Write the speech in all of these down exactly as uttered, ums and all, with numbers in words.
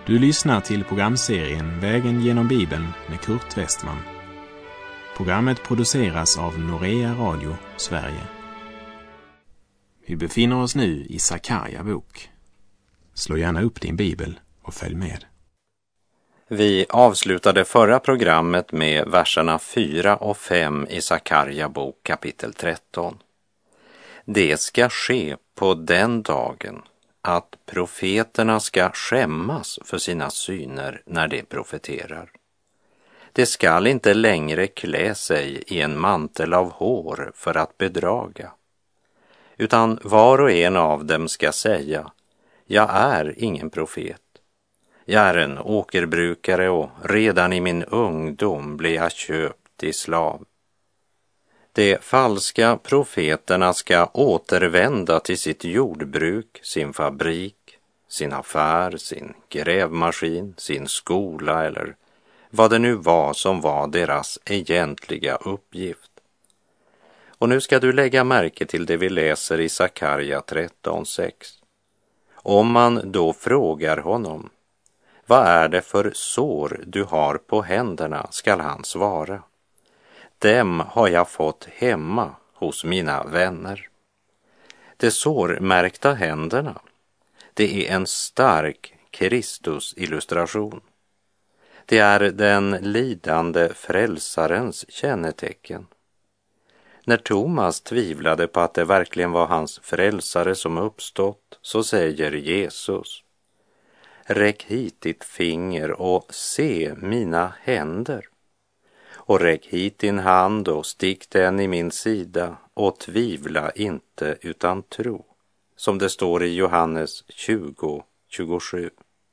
Du lyssnar till programserien Vägen genom Bibeln med Kurt Westman. Programmet produceras av Norea Radio, Sverige. Vi befinner oss nu i Sakarja bok. Slå gärna upp din bibel och följ med. Vi avslutade förra programmet med verserna fyra och fem i Sakarja bok kapitel tretton. Det ska ske på den dagen att profeterna ska skämmas för sina syner när de profeterar. De skall inte längre klä sig i en mantel av hår för att bedraga, utan var och en av dem ska säga: jag är ingen profet. Jag är en åkerbrukare och redan i min ungdom blev jag köpt till slav. De falska profeterna ska återvända till sitt jordbruk, sin fabrik, sin affär, sin grävmaskin, sin skola eller vad det nu var som var deras egentliga uppgift. Och nu ska du lägga märke till det vi läser i Sakarja tretton sex. Om man då frågar honom: vad är det för sår du har på händerna, skall han svara: dem har jag fått hemma hos mina vänner. De sårmärkta händerna, det är en stark Kristus-illustration. Det är den lidande frälsarens kännetecken. När Thomas tvivlade på att det verkligen var hans frälsare som uppstått, så säger Jesus: räck hit ditt finger och se mina händer. Och räck hit din hand och stick den i min sida och tvivla inte utan tro. Som det står i Johannes tjugo tjugosju.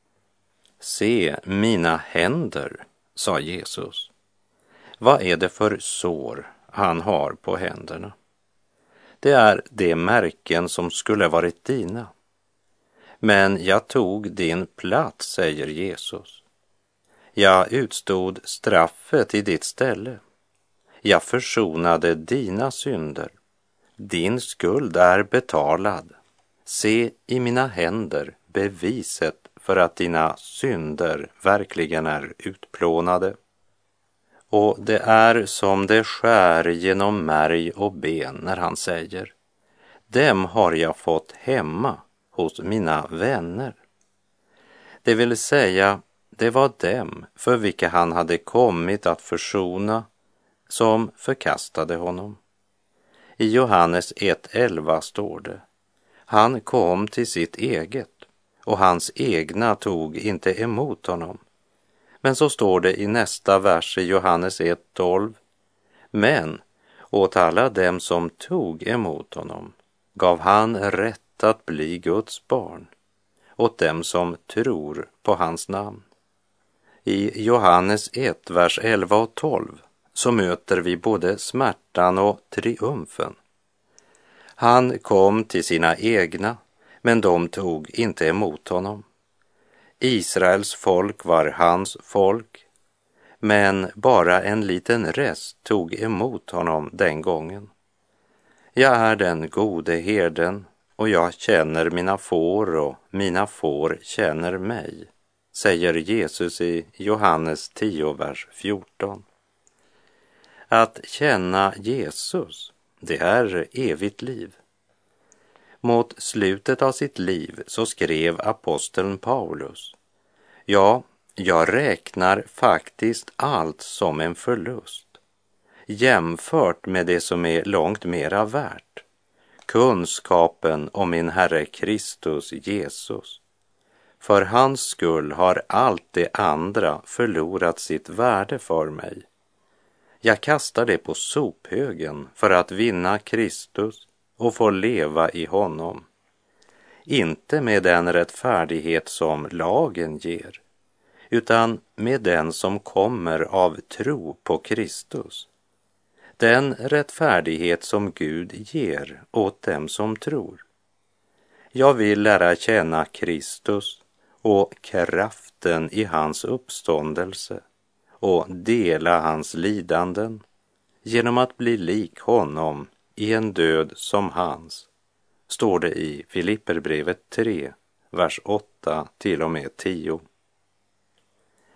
Se mina händer, sa Jesus. Vad är det för sår han har på händerna? Det är de märken som skulle varit dina. Men jag tog din plats, säger Jesus. Jag utstod straffet i ditt ställe. Jag försonade dina synder. Din skuld är betalad. Se i mina händer beviset för att dina synder verkligen är utplånade. Och det är som det skär genom märg och ben när han säger: dem har jag fått hemma hos mina vänner. Det vill säga, det var dem för vilka han hade kommit att försona som förkastade honom. I Johannes ett elva står det: han kom till sitt eget och hans egna tog inte emot honom. Men så står det i nästa vers i Johannes ett tolv: men åt alla dem som tog emot honom gav han rätt att bli Guds barn, åt dem som tror på hans namn. I Johannes ett, vers elva och tolv så möter vi både smärtan och triumfen. Han kom till sina egna, men de tog inte emot honom. Israels folk var hans folk, men bara en liten rest tog emot honom den gången. Jag är den gode herden, och jag känner mina får och mina får känner mig, säger Jesus i Johannes tio, vers fjorton. Att känna Jesus, det är evigt liv. Mot slutet av sitt liv så skrev aposteln Paulus: ja, jag räknar faktiskt allt som en förlust, jämfört med det som är långt mera värt, kunskapen om min Herre Kristus Jesus. För hans skull har allt det andra förlorat sitt värde för mig. Jag kastar det på sophögen för att vinna Kristus och få leva i honom. Inte med den rättfärdighet som lagen ger, utan med den som kommer av tro på Kristus. Den rättfärdighet som Gud ger åt dem som tror. Jag vill lära känna Kristus och kraften i hans uppståndelse och dela hans lidanden genom att bli lik honom i en död som hans, står det i Filipperbrevet tre, vers åtta till och med tio.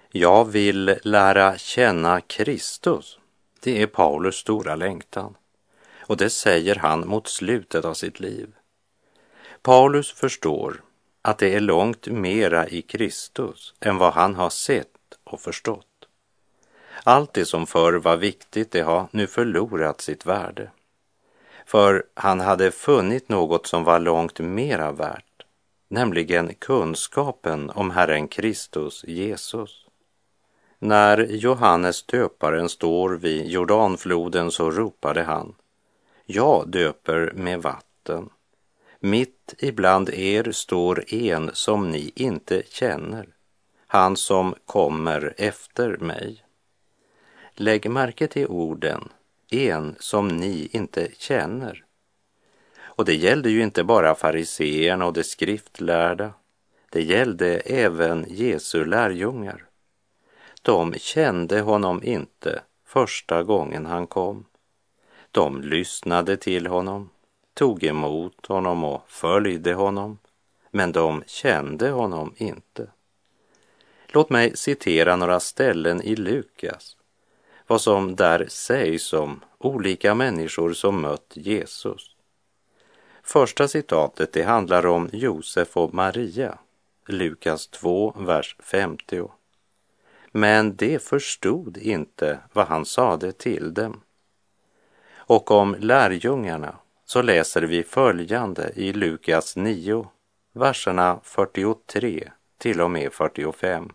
Jag vill lära känna Kristus. Det är Paulus stora längtan. Och det säger han mot slutet av sitt liv. Paulus förstår att det är långt mera i Kristus än vad han har sett och förstått. Allt det som förr var viktigt, det har nu förlorat sitt värde. För han hade funnit något som var långt mera värt, nämligen kunskapen om Herren Kristus Jesus. När Johannes döparen står vid Jordanfloden så ropade han: jag döper med vatten. Mitt ibland er står en som ni inte känner, han som kommer efter mig. Lägg märke till orden, en som ni inte känner. Och det gällde ju inte bara fariseerna och de skriftlärda, det gällde även Jesu lärjungar. De kände honom inte första gången han kom. De lyssnade till honom, tog emot honom och följde honom, men de kände honom inte. Låt mig citera några ställen i Lukas, vad som där sägs om olika människor som mött Jesus. Första citatet, det handlar om Josef och Maria, Lukas två, vers femtio. Men de förstod inte vad han sade till dem. Och om lärjungarna så läser vi följande i Lukas nio, verserna fyrtiotre till och med fyrtiofem.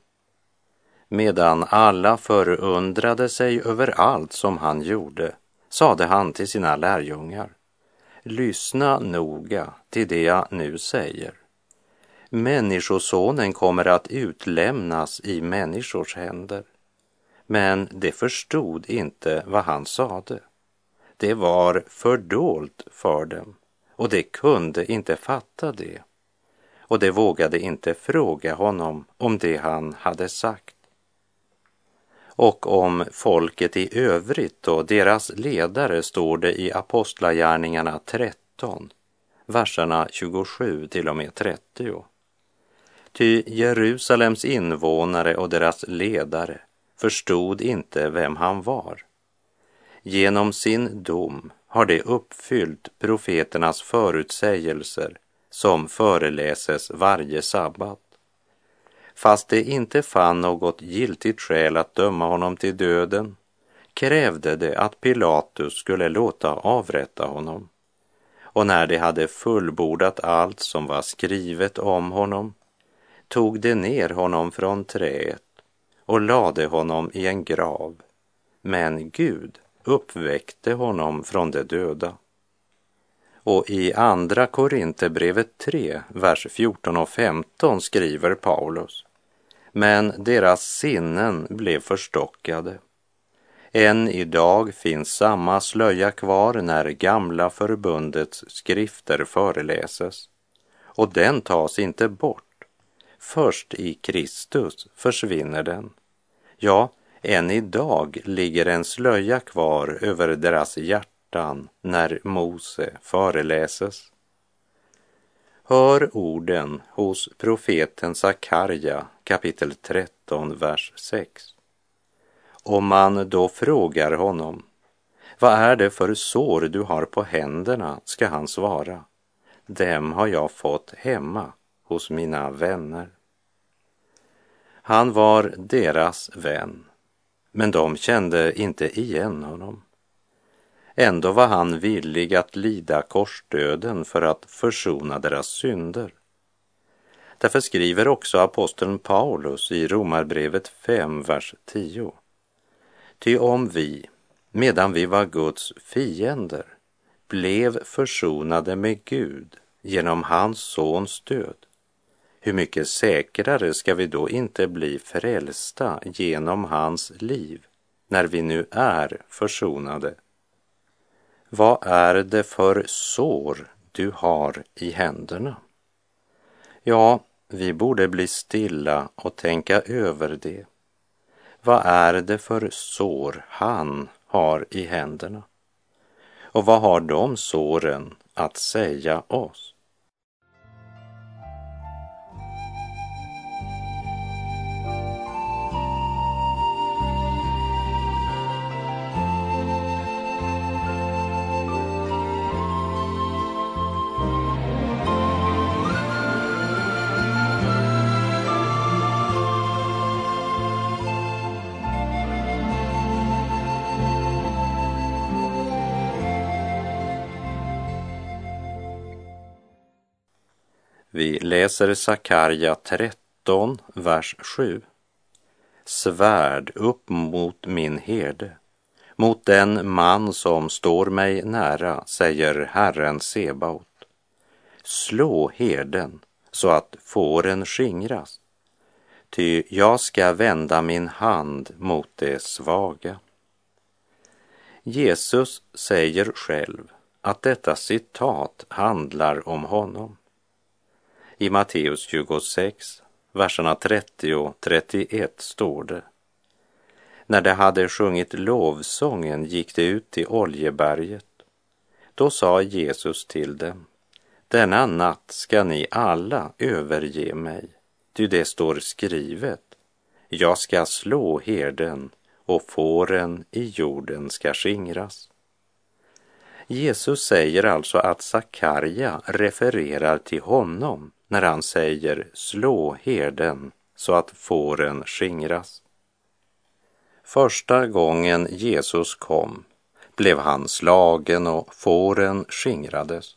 Medan alla förundrade sig över allt som han gjorde, sade han till sina lärjungar: lyssna noga till det jag nu säger. Människosonen kommer att utlämnas i människors händer. Men de förstod inte vad han sade. Det var fördolt för dem, och de kunde inte fatta det. Och de vågade inte fråga honom om det han hade sagt. Och om folket i övrigt och deras ledare står det i Apostlagärningarna tretton, verserna tjugosju till och med trettio. Ty Jerusalems invånare och deras ledare förstod inte vem han var. Genom sin dom har de uppfyllt profeternas förutsägelser som föreläses varje sabbat. Fast de inte fann något giltigt skäl att döma honom till döden, krävde de att Pilatus skulle låta avrätta honom. Och när de hade fullbordat allt som var skrivet om honom, tog de ner honom från träet och lade honom i en grav. Men Gud uppväckte honom från de döda. Och i andra Korinthierbrevet tre, vers fjorton och femton skriver Paulus: men deras sinnen blev förstockade. Än idag finns samma slöja kvar när gamla förbundets skrifter föreläses, och den tas inte bort. Först i Kristus försvinner den. Ja, än idag ligger en slöja kvar över deras hjärtan när Mose föreläses. Hör orden hos profeten Sakarja, kapitel tretton, vers sex. Om man då frågar honom: vad är det för sår du har på händerna, ska han svara: dem har jag fått hemma hos mina vänner. Han var deras vän, men de kände inte igen honom. Ändå var han villig att lida korsdöden för att försona deras synder. Därför skriver också aposteln Paulus i Romarbrevet fem, vers tio. Ty om vi, medan vi var Guds fiender, blev försonade med Gud genom hans sons död, hur mycket säkrare ska vi då inte bli frälsta genom hans liv, när vi nu är försonade? Vad är det för sår du har i händerna? Ja, vi borde bli stilla och tänka över det. Vad är det för sår han har i händerna? Och vad har de såren att säga oss? Vi läser Sakarja tretton, vers sju. Svärd upp mot min herde, mot den man som står mig nära, säger Herren Sebaot. Slå herden så att fåren skingras, ty jag ska vända min hand mot det svaga. Jesus säger själv att detta citat handlar om honom. I Matteus tjugosex, verserna trettio och trettioett står det: när de hade sjungit lovsången gick de ut till Oljeberget. Då sa Jesus till dem: denna natt ska ni alla överge mig, ty det står skrivet: jag ska slå herden och fåren i jorden ska skingras. Jesus säger alltså att Sakarja refererar till honom när han säger slå herden så att fåren skingras. Första gången Jesus kom blev han slagen och fåren skingrades.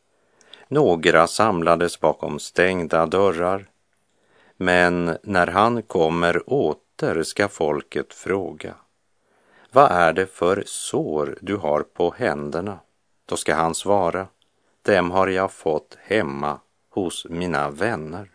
Några samlades bakom stängda dörrar, men när han kommer åter ska folket fråga: vad är det för sår du har på händerna? Då ska han svara: dem har jag fått hemma hos mina vänner.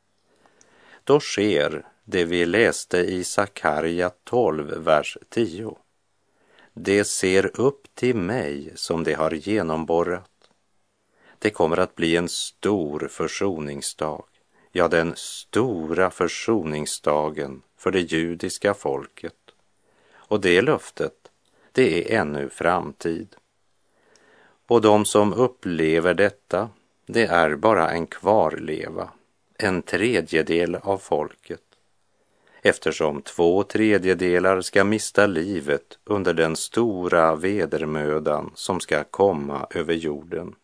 Då sker det vi läste i Sakarja tolv, vers tio. Det ser upp till mig som det har genomborrat. Det kommer att bli en stor försoningsdag, ja, den stora försoningsdagen för det judiska folket. Och det löftet, det är ännu framtid. Och de som upplever detta, det är bara en kvarleva, en tredjedel av folket. Eftersom två tredjedelar ska mista livet under den stora vedermödan som ska komma över jorden.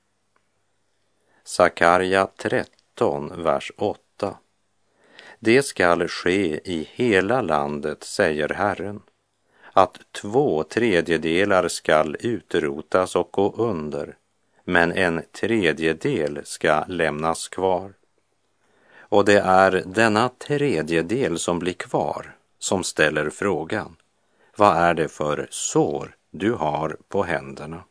Sakarja tretton, vers åtta. Det skall ske i hela landet, säger Herren, att två tredjedelar skall utrotas och gå under, men en tredjedel ska lämnas kvar. Och det är denna tredjedel som blir kvar som ställer frågan: vad är det för sår du har på händerna?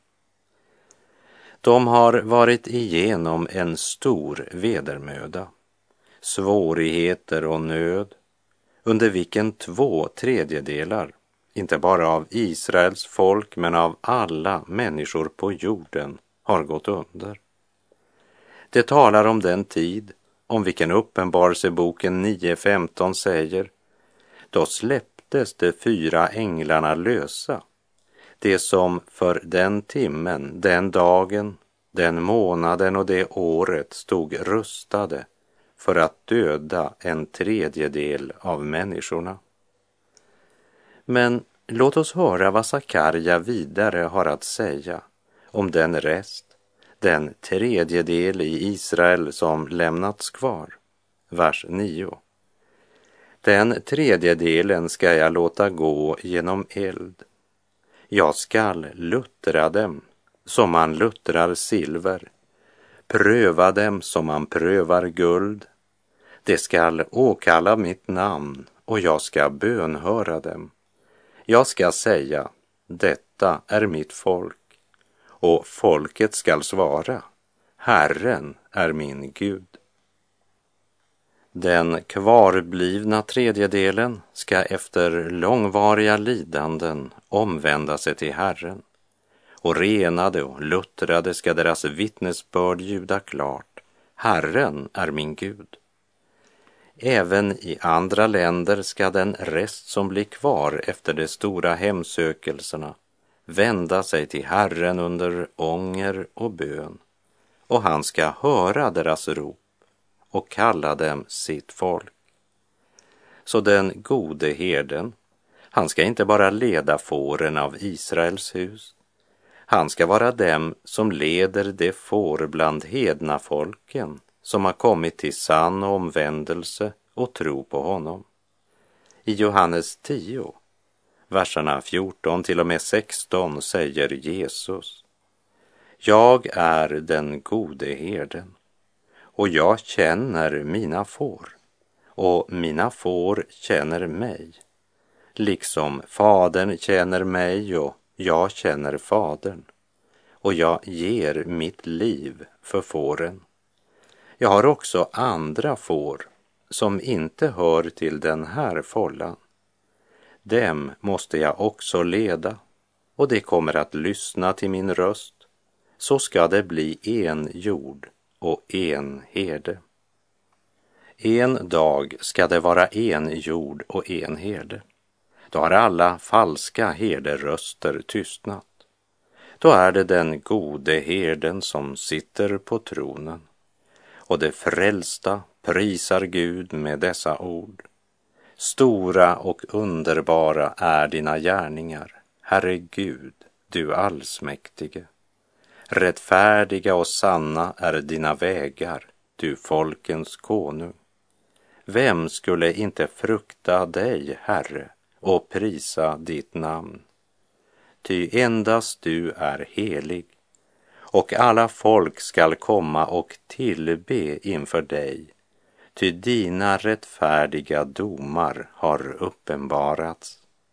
De har varit igenom en stor vedermöda, svårigheter och nöd, under vilken två tredjedelar, inte bara av Israels folk men av alla människor på jorden, har gått under. Det talar om den tid om vilken Uppenbarelseboken nio femton säger: då släpptes de fyra änglarna lösa, det som för den timmen, den dagen, den månaden och det året stod rustade för att döda en tredjedel av människorna. Men låt oss höra vad Sakarja vidare har att säga om den rest, den tredjedel i Israel som lämnats kvar. Vers nio. Den tredjedelen ska jag låta gå genom eld. Jag skall luttra dem som man luttrar silver, pröva dem som man prövar guld. Det skall åkalla mitt namn och jag ska bönhöra dem. Jag ska säga: detta är mitt folk. Och folket skall svara: Herren är min Gud. Den kvarblivna tredjedelen ska efter långvariga lidanden omvända sig till Herren, och renade och luttrade ska deras vittnesbörd ljuda klart: Herren är min Gud. Även i andra länder ska den rest som blir kvar efter de stora hemsökelserna vända sig till Herren under ånger och bön, och han ska höra deras rop och kalla dem sitt folk. Så den gode herden, han ska inte bara leda fåren av Israels hus, han ska vara dem som leder de får bland hedna folken som har kommit till sann omvändelse och tro på honom. I Johannes tio, verserna fjorton till och med sexton säger Jesus: jag är den gode herden, och jag känner mina får, och mina får känner mig, liksom fadern känner mig och jag känner fadern, och jag ger mitt liv för fåren. Jag har också andra får som inte hör till den här fållan. Dem måste jag också leda, och det kommer att lyssna till min röst. Så ska det bli en jord och en herde. En dag ska det vara en jord och en herde. Då har alla falska herderöster tystnat. Då är det den gode herden som sitter på tronen. Och det frälsta prisar Gud med dessa ord. Stora och underbara är dina gärningar, Herre Gud, du allsmäktige. Rättfärdiga och sanna är dina vägar, du folkens konung. Vem skulle inte frukta dig, Herre, och prisa ditt namn? Ty endast du är helig, och alla folk skall komma och tillbe inför dig, ty dina rättfärdiga domar har uppenbarats.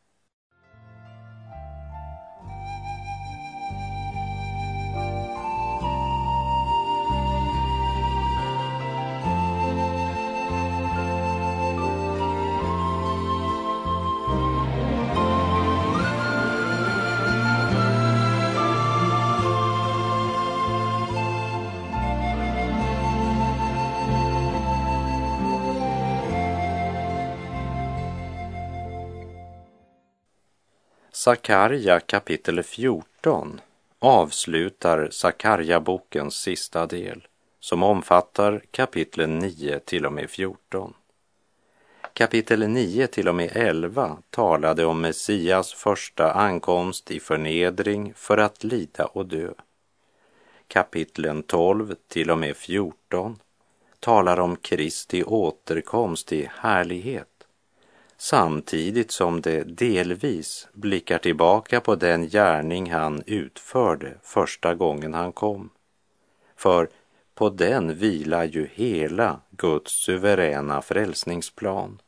Sakarja kapitel fjorton avslutar Sakarja-bokens sista del, som omfattar kapitlen nio till och med fjorton. Kapitel nio till och med elva talade om Messias första ankomst i förnedring för att lida och dö. Kapitlen tolv till och med fjorton talar om Kristi återkomst i härlighet, samtidigt som det delvis blickar tillbaka på den gärning han utförde första gången han kom. För på den vilar ju hela Guds suveräna frälsningsplan.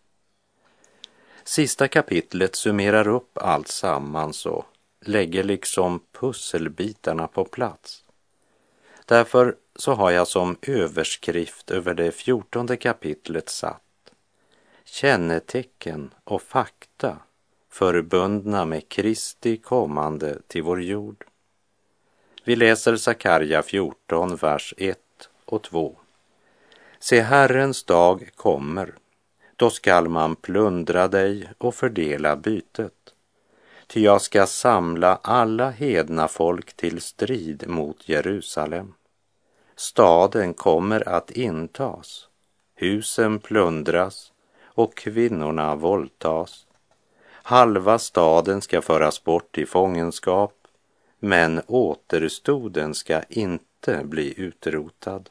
Sista kapitlet summerar upp allt sammans och lägger liksom pusselbitarna på plats. Därför så har jag som överskrift över det fjortonde kapitlet satt: kännetecken och fakta förbundna med Kristi kommande till vår jord. Vi läser Sakarja fjorton, vers ett och två. Se, Herrens dag kommer, då skall man plundra dig och fördela bytet. Ty jag ska samla alla hedna folk till strid mot Jerusalem. Staden kommer att intas, husen plundras och kvinnorna våldtas. Halva staden ska föras bort i fångenskap, men återstoden ska inte bli utrotad.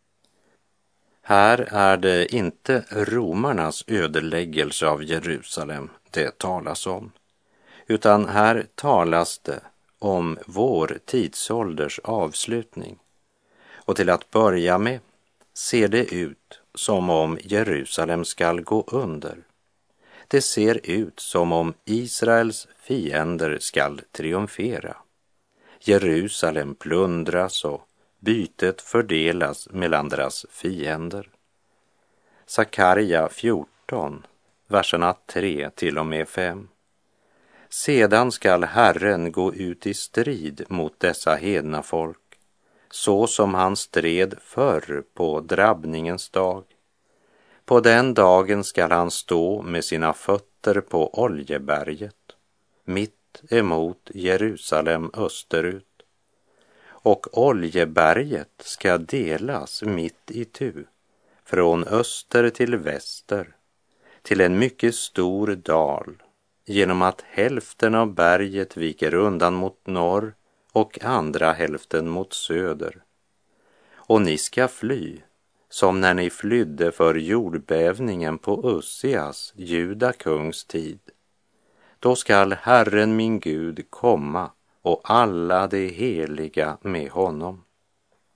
Här är det inte romarnas ödeläggelse av Jerusalem det talas om, utan här talas det om vår tidsålders avslutning. Och till att börja med ser det ut som om Jerusalem skall gå under. Det ser ut som om Israels fiender skall triumfera. Jerusalem plundras och bytet fördelas mellan deras fiender. Sakarja fjorton, verserna tre till och med fem. Sedan skall Herren gå ut i strid mot dessa hedna folk, så som han stred förr på drabbningens dag. På den dagen skall han stå med sina fötter på Oljeberget, mitt emot Jerusalem österut. Och Oljeberget ska delas mitt itu, från öster till väster, till en mycket stor dal, genom att hälften av berget viker undan mot norr och andra hälften mot söder. Och ni ska fly, som när ni flydde för jordbävningen på Ussias, Juda kungs tid. Då skall Herren min Gud komma och alla de heliga med honom.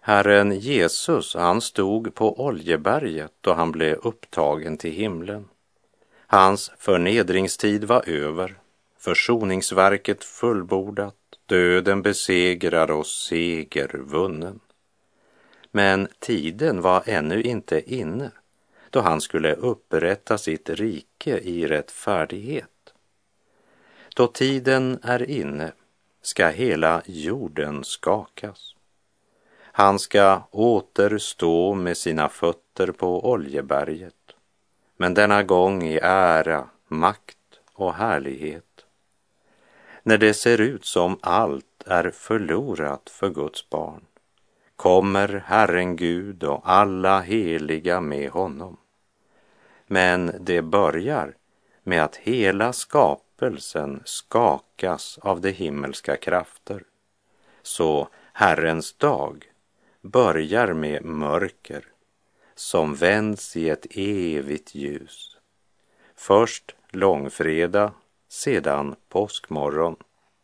Herren Jesus, han stod på Oljeberget då han blev upptagen till himlen. Hans förnedringstid var över, försoningsverket fullbordat, döden besegrad och seger vunnen. Men tiden var ännu inte inne då han skulle upprätta sitt rike i rättfärdighet. Då tiden är inne ska hela jorden skakas. Han ska återstå med sina fötter på Oljeberget, men denna gång i ära, makt och härlighet. När det ser ut som allt är förlorat för Guds barn, kommer Herren Gud och alla heliga med honom. Men det börjar med att hela skapelsen skakas av de himmelska krafter. Så Herrens dag börjar med mörker som vänds i ett evigt ljus. Först långfredag, sedan påskmorgon.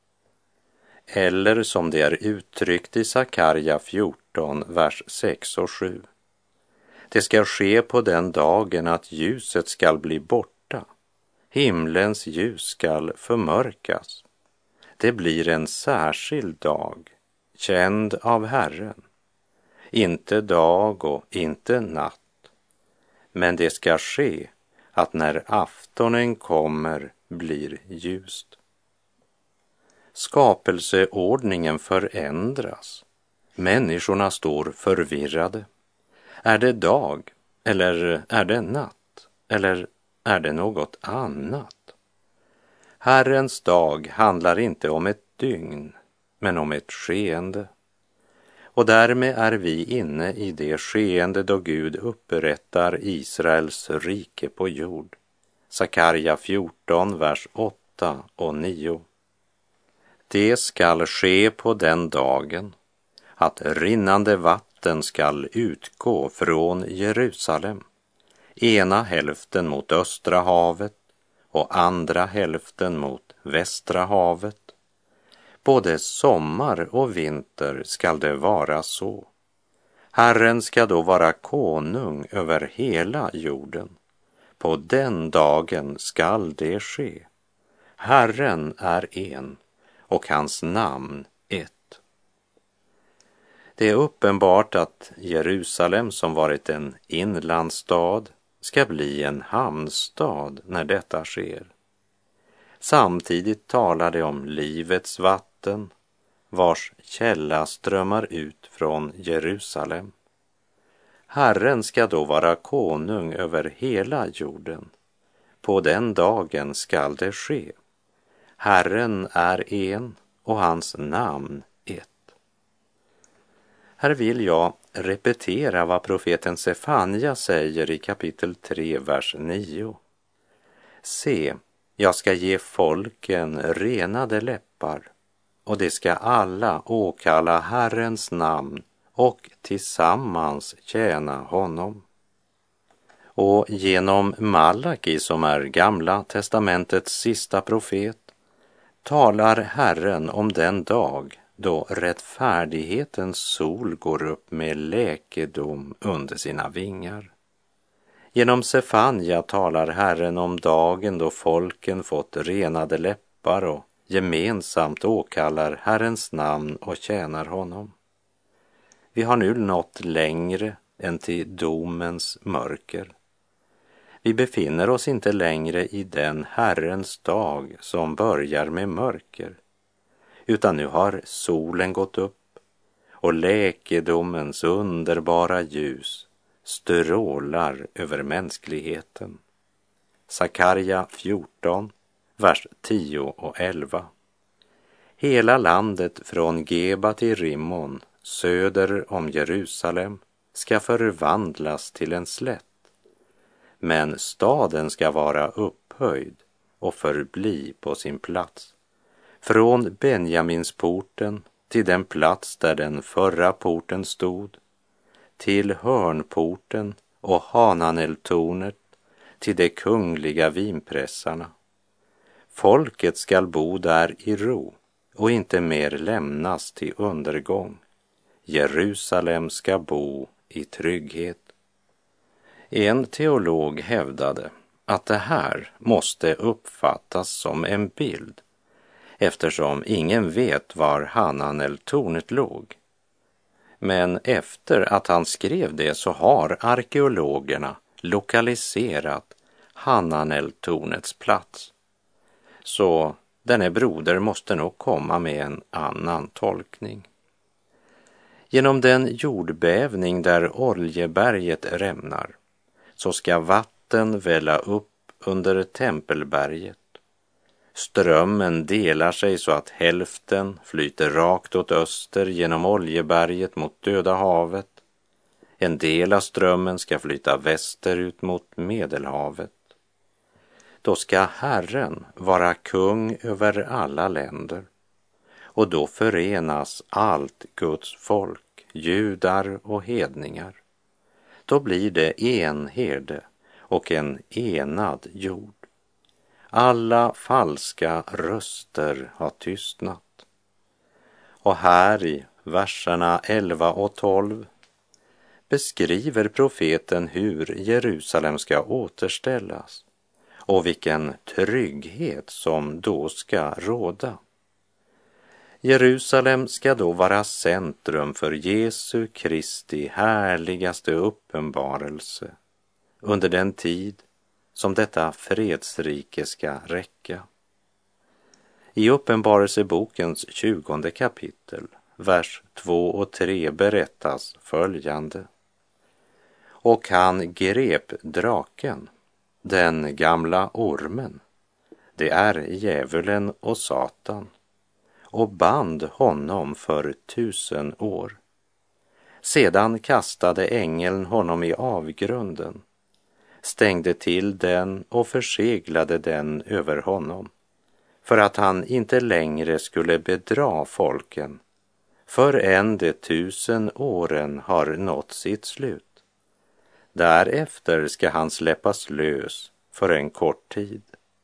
Eller som det är uttryckt i Sakarja fjorton, vers sex och sju. Det ska ske på den dagen att ljuset skall bli borta. Himlens ljus skall förmörkas. Det blir en särskild dag, känd av Herren. Inte dag och inte natt. Men det ska ske att när aftonen kommer blir ljust. Skapelseordningen förändras. Människorna står förvirrade. Är det dag eller är det natt eller är det något annat? Herrens dag handlar inte om ett dygn men om ett skeende. Och därmed är vi inne i det skeende då Gud upprättar Israels rike på jord. Sakarja fjorton, vers åtta och nio. Det skall ske på den dagen att rinnande vatten skall utgå från Jerusalem, ena hälften mot östra havet och andra hälften mot västra havet. Både sommar och vinter skall det vara så. Herren ska då vara konung över hela jorden. På den dagen skall det ske. Herren är en och hans namn ett. Det är uppenbart att Jerusalem, som varit en inlandsstad, ska bli en hamnstad när detta sker. Samtidigt talar det om livets vatten, vars källa strömmar ut från Jerusalem. Herren ska då vara konung över hela jorden. På den dagen skall det ske. Herren är en och hans namn ett. Här vill jag repetera vad profeten Sefanja säger i kapitel tre, vers nio. Se, jag ska ge folken renade läppar, och det ska alla åkalla Herrens namn och tillsammans tjäna honom. Och genom Malaki, som är Gamla testamentets sista profet, talar Herren om den dag då rättfärdighetens sol går upp med läkedom under sina vingar. Genom Sefanja talar Herren om dagen då folken fått renade läppar och gemensamt åkallar Herrens namn och tjänar honom. Vi har nu nått längre än till domens mörker. Vi befinner oss inte längre i den Herrens dag som börjar med mörker, utan nu har solen gått upp och läkedomens underbara ljus strålar över mänskligheten. Sakarja fjorton, vers tio och elva. Hela landet från Geba till Rimmon, söder om Jerusalem, ska förvandlas till en slätt. Men staden ska vara upphöjd och förbli på sin plats. Från Benjaminsporten till den plats där den förra porten stod, till hörnporten och Hananeltornet, till de kungliga vinpressarna. Folket skall bo där i ro och inte mer lämnas till undergång. Jerusalem ska bo i trygghet. En teolog hävdade att det här måste uppfattas som en bild, eftersom ingen vet var Hananel-tornet låg. Men efter att han skrev det så har arkeologerna lokaliserat Hananel-tornets plats. Så denne broder måste nog komma med en annan tolkning. Genom den jordbävning där Oljeberget rämnar så ska vatten välla upp under Tempelberget. Strömmen delar sig så att hälften flyter rakt åt öster genom Oljeberget mot Döda havet. En del av strömmen ska flyta västerut mot Medelhavet. Då ska Herren vara kung över alla länder, och då förenas allt Guds folk, judar och hedningar. Då blir det en herde och en enad jord. Alla falska röster har tystnat. Och här i verserna elva och tolv beskriver profeten hur Jerusalem ska återställas och vilken trygghet som då ska råda. Jerusalem ska då vara centrum för Jesu Kristi härligaste uppenbarelse under den tid som detta fredsrike ska räcka. I Uppenbarelsebokens tjugonde kapitel, vers två och tre berättas följande. Och han grep draken, den gamla ormen, det är djävulen och Satan, och band honom för tusen år. Sedan kastade ängeln honom i avgrunden, stängde till den och förseglade den över honom, för att han inte längre skulle bedra folken, förrän de tusen åren har nått sitt slut. Därefter ska han släppas lös för en kort tid.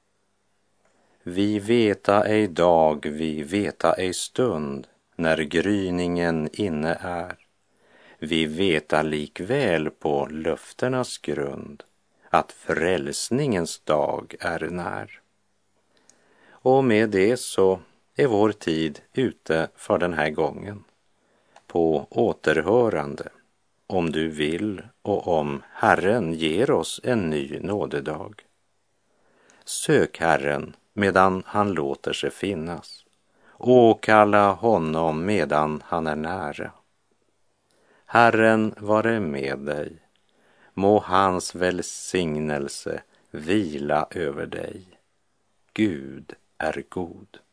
Vi veta ej dag, vi veta ej stund, när gryningen inne är. Vi veta likväl på löfternas grund, att frälsningens dag är när. Och med det så är vår tid ute för den här gången. På återhörande, om du vill och om Herren ger oss en ny nådedag. Sök Herren medan han låter sig finnas. Åkalla honom medan han är nära. Herren vare med dig. Må hans välsignelse vila över dig. Gud är god.